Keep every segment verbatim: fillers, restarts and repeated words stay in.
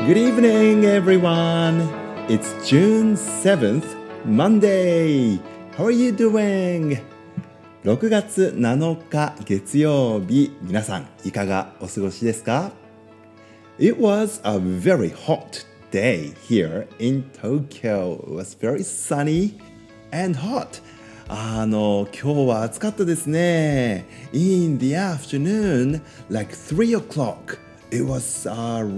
Good evening, everyone. It's June seventh, Monday. How are you doing? ろくがつなのか月曜日、皆さんいかがお過ごしですか？ It was a very hot day here in Tokyo. It was very sunny and hot. あの、今日は暑かったですね。In the afternoon, like three o'clock.It was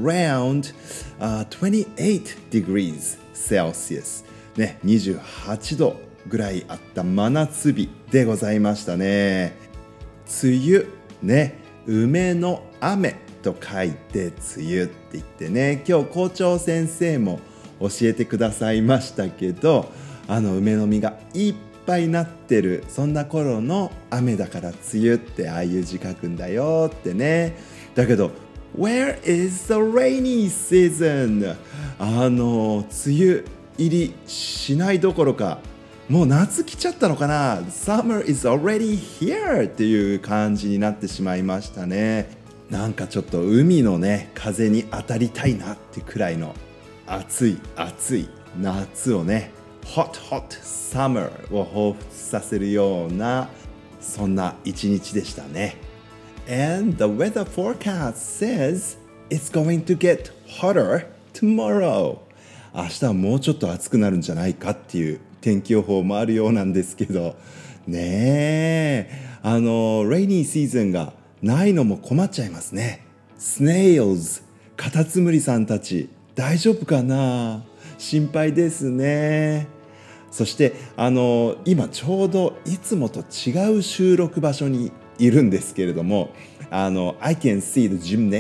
around、uh, twenty-eight degrees Celsius ね、にじゅうはちどぐらいあった真夏日でございましたね。梅雨ね、梅の雨と書いて梅雨って言ってね、今日校長先生も教えてくださいましたけど、あの梅の実がいっぱいなってるそんな頃の雨だから梅雨ってああいう字書くんだよってね。だけどWhere is the rainy season? あの梅雨入りしないどころかもう夏来ちゃったのかな Summer is already here っていう感じになってしまいましたね。なんかちょっと海のね風に当たりたいなってくらいの暑い暑い夏をね Hot hot summer を彷彿させるようなそんな一日でしたね。And the weather forecast says it's going to get hotter tomorrow. 明日はもうちょっと暑くなるんじゃないかっていう天気予報もあるようなんですけどねえ、あのレイニーシーズンがないのも困っちゃいますね。Snails カタツムリさんたち大丈夫かな、心配ですね。そしてあの今ちょうどいつもと違う収録場所にいるんですけれども、あの I can see the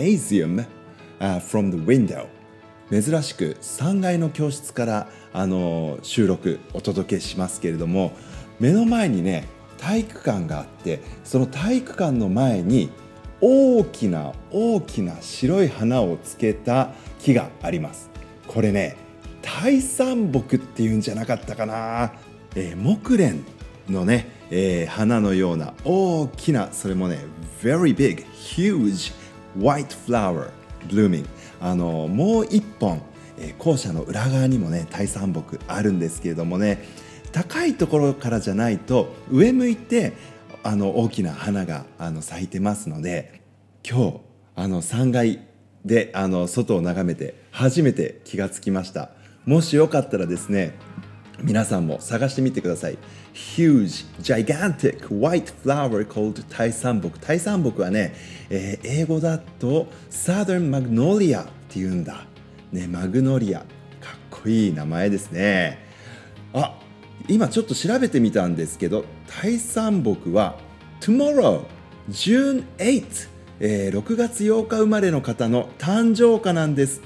gymnasium、uh, from the window。 珍しくさんがいの教室からあの収録お届けしますけれども、目の前にね体育館があって、その体育館の前に大きな大きな白い花をつけた木があります。これね大山木っていうんじゃなかったかな、えー、木蓮のね、えー、花のような大きな、それもね very big huge white flower blooming。 あのもう一本、えー、校舎の裏側にもね大山木あるんですけれどもね、高いところからじゃないと上向いてあの大きな花があの咲いてますので、今日あのさんがいであの外を眺めて初めて気がつきました。もしよかったらですね、皆さんも探してみてください。 Huge, gigantic white flower called 大山木。大山木はね、えー、英語だと Southern Magnolia っていうんだ、ね、マグノリア、かっこいい名前ですね。あ、今ちょっと調べてみたんですけど、大山木は Tomorrow, June eighth、えー、ろくがつようか生まれの方の誕生花なんですって。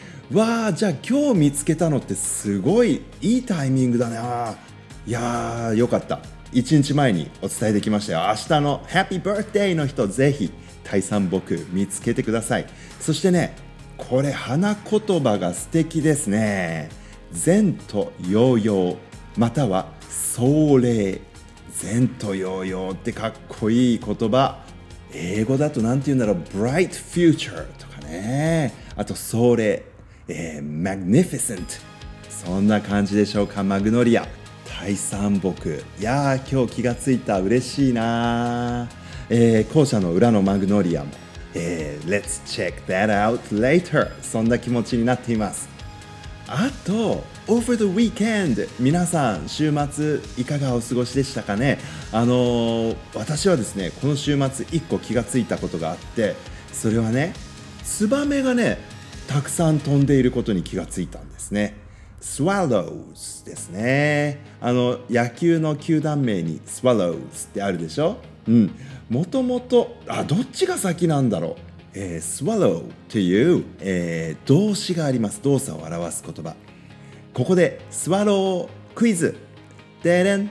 わあ、じゃあ今日見つけたのってすごいいいタイミングだな。いやーよかった、いちにちまえにお伝えできましたよ。明日のハッピーバースデーの人、ぜひ大山木見つけてください。そしてね、これ花言葉が素敵ですね。前途洋々または壮麗。前途洋々ってかっこいい言葉。英語だとなんて言うんだろう、bright future とかね、あと壮麗、えー、magnificent、 そんな感じでしょうか。マグノリア、大山木。いやー今日気がついた、嬉しいな、えー、校舎の裏のマグノリアも、えー、Let's check that out later、 そんな気持ちになっています。あと Over the weekend、 皆さん週末いかがお過ごしでしたかね。あのー、私はですねこの週末いっこ気がついたことがあって、それはねツバメがねたくさん飛んでいることに気がついたんですね。Swallows ですね。あの野球の球団名に Swallows ってあるでしょ。うん。もともとあどっちが先なんだろう。えー、Swallow という、えー、動詞があります。動作を表す言葉。ここで Swallow クイズ。でれん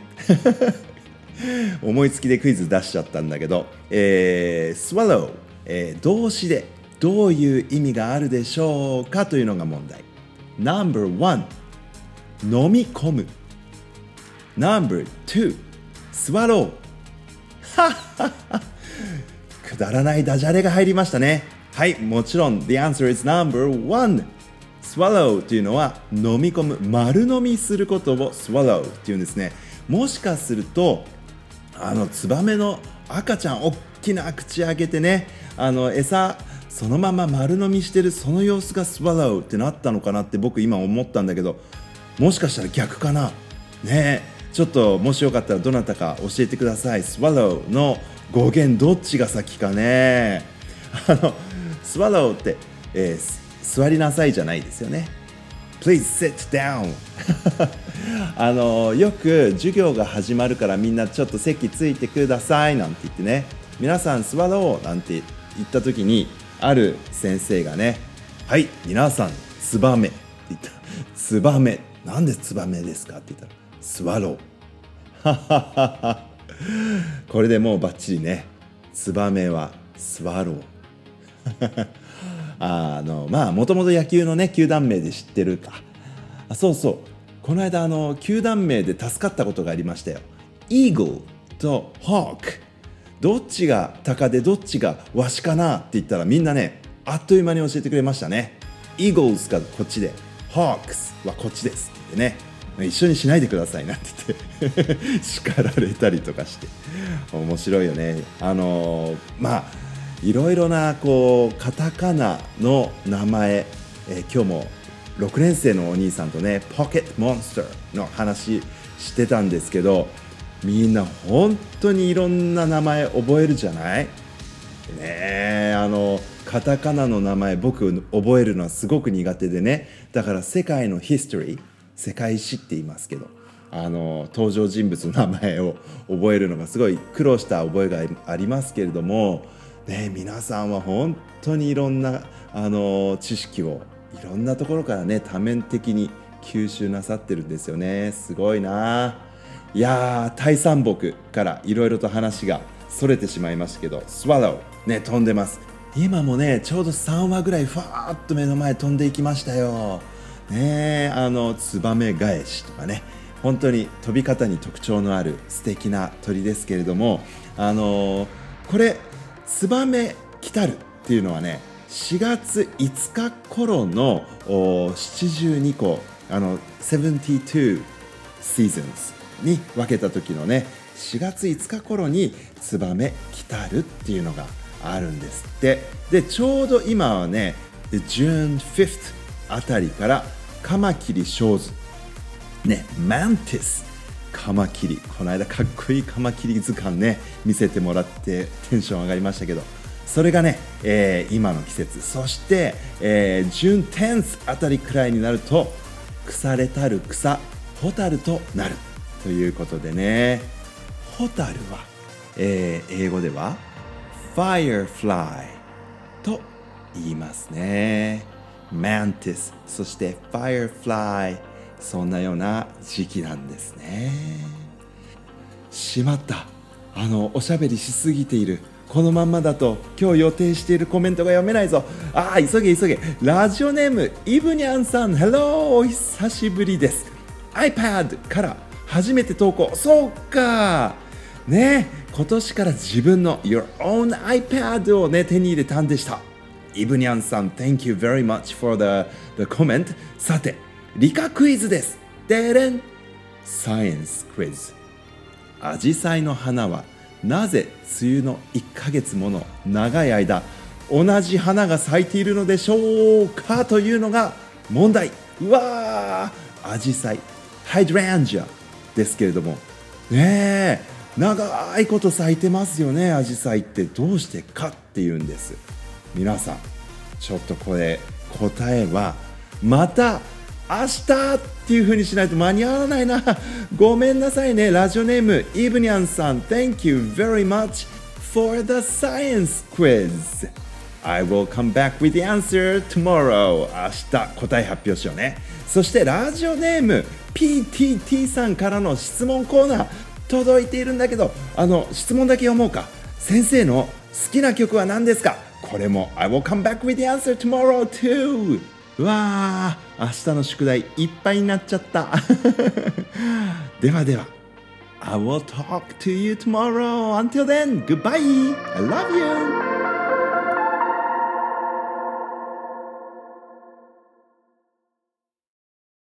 思いつきでクイズ出しちゃったんだけど、えー、Swallow、えー、動詞でどういう意味があるでしょうかというのが問題。 ナンバーワン 飲み込む。 ナンバーツー Swallow はっはっは、くだらないダジャレが入りましたね。はい、もちろん The answer is number one swallow っていうのは飲み込む、丸飲みすることを swallow っていうんですね。もしかするとあのツバメの赤ちゃん、大きな口開けてね、あの餌そのまま丸飲みしてるその様子が swallow ってなったのかなって僕今思ったんだけど、もしかしたら逆かなね。ちょっともしよかったらどなたか教えてください。 swallow の語源どっちが先かね。あの swallow って、えー、座りなさいじゃないですよね。 Please sit down あのよく授業が始まるからみんなちょっと席ついてくださいなんて言ってね、皆さん座ろうなんて言った時に、ある先生がね、はい、皆さんツバメって言った。ツバメ、なんでツバメですかって言ったら、スワローこれでもうバッチリね。ツバメはスワローあのまあもともと野球のね球団名で知ってるか。あ、そうそう、この間あの球団名で助かったことがありましたよ。イーグルとホーク、どっちが鷹でどっちがワシかなって言ったら、みんなねあっという間に教えてくれましたね。イーグルスがこっちで、ホークスはこっちですって言ってね、一緒にしないでくださいなんて言って叱られたりとかして面白いよね。あのー、まあいろいろなこうカタカナの名前、えー、今日もろくねん生のお兄さんとねポケットモンスターの話してたんですけど、みんな本当にいろんな名前覚えるじゃないね。えあのカタカナの名前僕覚えるのはすごく苦手でね、だから世界のヒストリー、世界史って言いますけど、あの登場人物の名前を覚えるのがすごい苦労した覚えがありますけれども、ね、皆さんは本当にいろんなあの知識をいろんなところからね多面的に吸収なさってるんですよね。すごいな。いやー、タイ山木からいろいろと話がそれてしまいましたけど、スワローね、飛んでます。今もねちょうどさんわぐらいファーッと目の前飛んでいきましたよね。あのツバメ返しとかね、本当に飛び方に特徴のある素敵な鳥ですけれども、あのー、これツバメ来たるっていうのはね、しがついつか頃のななじゅうにこ、あのななじゅうにシーズンズに分けた時のね、しがついつか頃にツバメ来たるっていうのがあるんですって。でちょうど今はねジューンフィフスあたりからカマキリショーズね、マンティスカマキリ、この間かっこいいカマキリ図鑑ね見せてもらってテンション上がりましたけど、それがね、えー、今の季節、そして、えー、ジューンテンスあたりくらいになると腐れたる草ホタルとなるということでね、ホタルは、えー、英語ではFirefly と言いますね。Mantis、そして Firefly、 そんなような時期なんですね。しまった、あのおしゃべりしすぎている。このまんまだと今日予定しているコメントが読めないぞ。ああ、急げ急げ。ラジオネームイブニャンさん、 Hello、 お久しぶりです。 iPad から初めて投稿。そうかね、今年から自分の Your own iPad をね手に入れたんでした。イブニャンさん、 Thank you very much for the, the comment。 さて理科クイズです。でれん、サイエンスクイズ。アジサイの花はなぜ梅雨のいっかげつもの長い間同じ花が咲いているのでしょうかというのが問題。うわー、アジサイ、ハイドランジアですけれどもねえ、長いこと咲いてますよね。アジサイってどうしてかっていうんです。皆さんちょっとこれ答えはまた明日っていう風にしないと間に合わないな。ごめんなさいね。ラジオネームイブニャンさん、 Thank you very much for the science quiz。 I will come back with the answer tomorrow。 明日答え発表しようね。そしてラジオネーム ピーティーティー さんからの質問コーナー届いているんだけど、あの質問だけ読もうか。先生の好きな曲は何ですか。これも I will come back with the answer tomorrow too。 うわー、明日の宿題いっぱいになっちゃったではでは I will talk to you tomorrow. Until then, goodbye. I love you.